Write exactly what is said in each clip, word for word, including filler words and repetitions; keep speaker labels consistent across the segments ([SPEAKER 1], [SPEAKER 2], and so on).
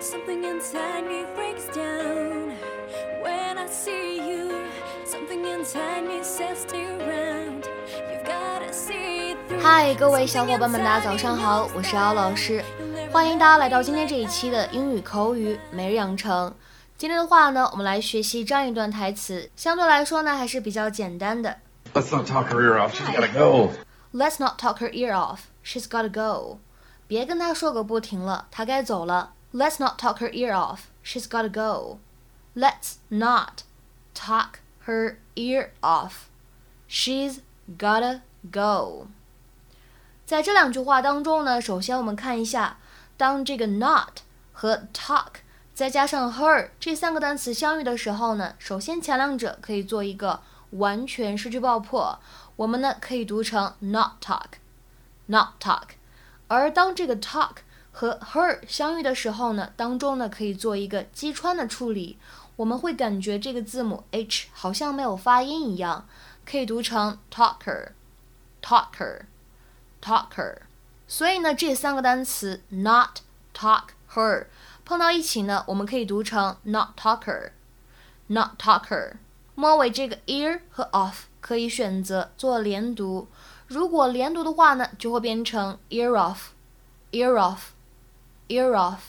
[SPEAKER 1] Something inside me breaks down when I see you. Something inside me says stay around. You've gotta see through.
[SPEAKER 2] 嗨，各位小伙伴们，大家早上好，我是姚老师，欢迎大家来到今天这一期的英语口语每日养成。今天的话呢，我们来学习这样一段台词，相对来说呢还是比较简单的。
[SPEAKER 3] Let's not talk her ear off. She's gotta go.
[SPEAKER 2] Let's not talk her ear off. She's gotta go. 别跟她说个不停了，她该走了。Let's not talk her ear off. She's gotta go. Let's not talk her ear off. She's gotta go. 在这两句话当中呢，首先我们看一下，当这个 not 和 talk 再加上 her 这三个单词相遇的时候呢，首先前两者可以做一个完全失去爆破，我们呢可以读成 not talk, not talk。而当这个 talk 和 her 相遇的时候呢，当中呢可以做一个击穿的处理，我们会感觉这个字母 h 好像没有发音一样，可以读成 talker, talker, talker。所以呢，这三个单词 not, talk, her 碰到一起呢，我们可以读成 not talker, not talker。末尾这个 ear 和 off 可以选择做连读，如果连读的话呢，就会变成 ear off, ear off, ear off。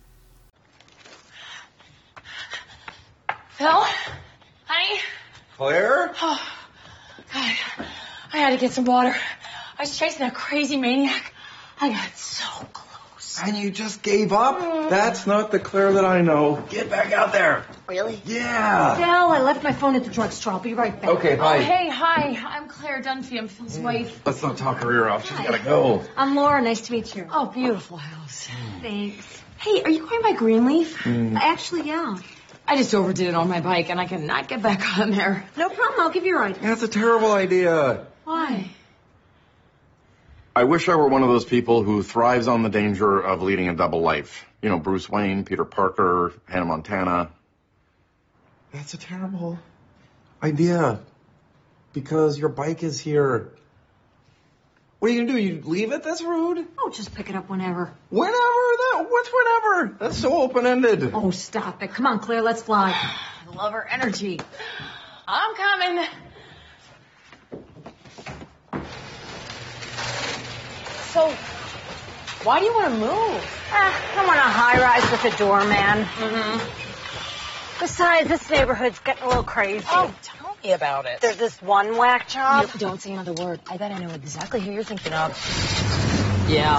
[SPEAKER 4] Phil? Honey?
[SPEAKER 3] Claire?
[SPEAKER 4] Oh, God. I had to get some water. I was chasing that crazy maniac. I got so close.
[SPEAKER 3] And you just gave up? Mm. That's not the Claire that I know. Get back out there.
[SPEAKER 4] Really?
[SPEAKER 3] Yeah.
[SPEAKER 4] Phil, I left my phone at the drugstore. I'll be right back.
[SPEAKER 3] Okay, bye.
[SPEAKER 4] Oh, hey, hi. I'm Claire Dunphy. I'm Phil's mm. wife.
[SPEAKER 3] Let's not talk her ear off. She's gotta go.
[SPEAKER 4] I'm Laura. Nice to meet you. Oh, beautiful house. Mm. Thanks. Hey, are you going by Greenleaf?
[SPEAKER 3] Mm.
[SPEAKER 4] Actually, yeah. I just overdid it on my bike, and I cannot get back on there. No problem. I'll give you a ride.
[SPEAKER 3] That's a terrible idea.
[SPEAKER 4] Why?
[SPEAKER 3] I wish I were one of those people who thrives on the danger of leading a double life. You know, Bruce Wayne, Peter Parker, Hannah Montana. That's a terrible idea. Because your bike is here. What are you gonna do? You leave it? That's rude.
[SPEAKER 4] Oh, just pick it up whenever.
[SPEAKER 3] Whenever? That, what's whenever? That's so open-ended.
[SPEAKER 4] Oh, stop it. Come on, Claire, let's fly. I love her energy. I'm coming. So, why do you want to move?
[SPEAKER 5] Ah, I want a high-rise with a doorman.
[SPEAKER 4] Mm-hmm.
[SPEAKER 5] Besides, this neighborhood's getting a little crazy.
[SPEAKER 4] Oh, tell me about it.
[SPEAKER 5] There's this one whack job.
[SPEAKER 4] No, don't say another word. I bet I know exactly who you're thinking of. Yeah.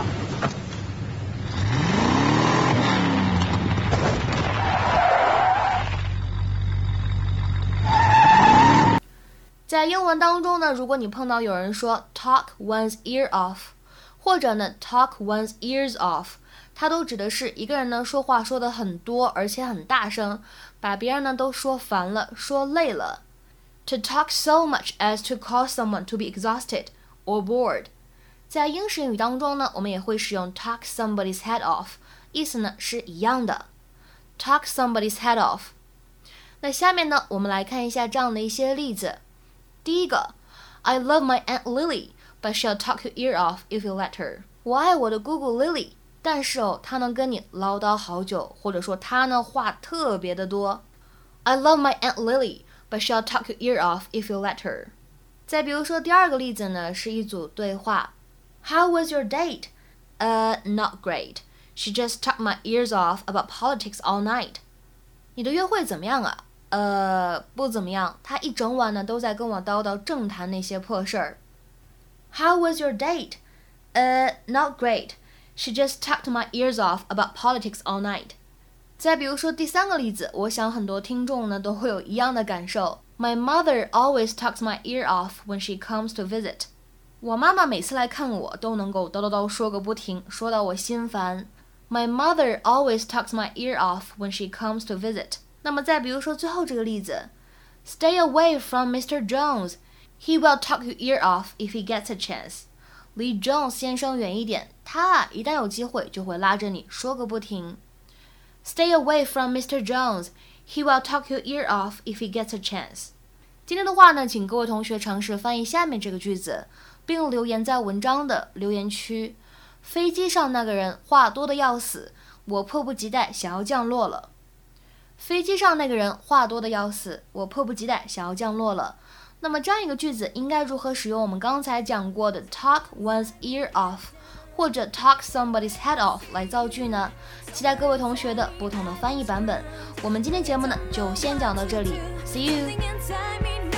[SPEAKER 2] 「在英文当中呢，如果你碰到有人说 talk one's ear off，或者呢 talk one's ears off， 它都指的是一个人呢说话说得很多，而且很大声，把别人呢都说烦了，说累了。To talk so much as to cause someone to be exhausted or bored。在英式英语当中呢，我们也会使用 talk somebody's head off， 意思呢是一样的。Talk somebody's head off。那下面呢，我们来看一下这样的一些例子。第一个 ，I love my Aunt Lily。But she'll talk your ear off if you let her. 我爱我的姑姑 Lily， 但是哦，她能跟你唠叨好久，或者说她呢话特别的多。I love my Aunt Lily, but she'll talk your ear off if you let her. 再比如说第二个例子呢，是一组对话。How was your date? Uh, not great. She just talked my ears off about politics all night. 你的约会怎么样啊？呃，不怎么样。她一整晚呢都在跟我叨叨政坛那些破事儿。How was your date? Uh, not great. She just talked my ears off about politics all night. 再比如说第三个例子，我想很多听众呢都会有一样的感受。My mother always talks my ear off when she comes to visit. 我妈妈每次来看我都能够叨叨叨说个不停，说到我心烦。My mother always talks my ear off when she comes to visit. 那么再比如说最后这个例子 ，Stay away from Mister Jones.He will talk your ear off if he gets a chance. 离 Jones 先生远一点，他一旦有机会就会拉着你说个不停。Stay away from Mister Jones. He will talk your ear off if he gets a chance. 今天的话呢，请各位同学尝试翻译下面这个句子，并留言在文章的留言区。飞机上那个人话多的要死， 我迫不及待想要降落了。飞机上那个人话多的要死，我迫不及待想要降落了。那么这样一个句子应该如何使用我们刚才讲过的 talk one's ear off 或者 talk somebody's head off 来造句呢？期待各位同学的不同的翻译版本。我们今天节目呢就先讲到这里 ，See you。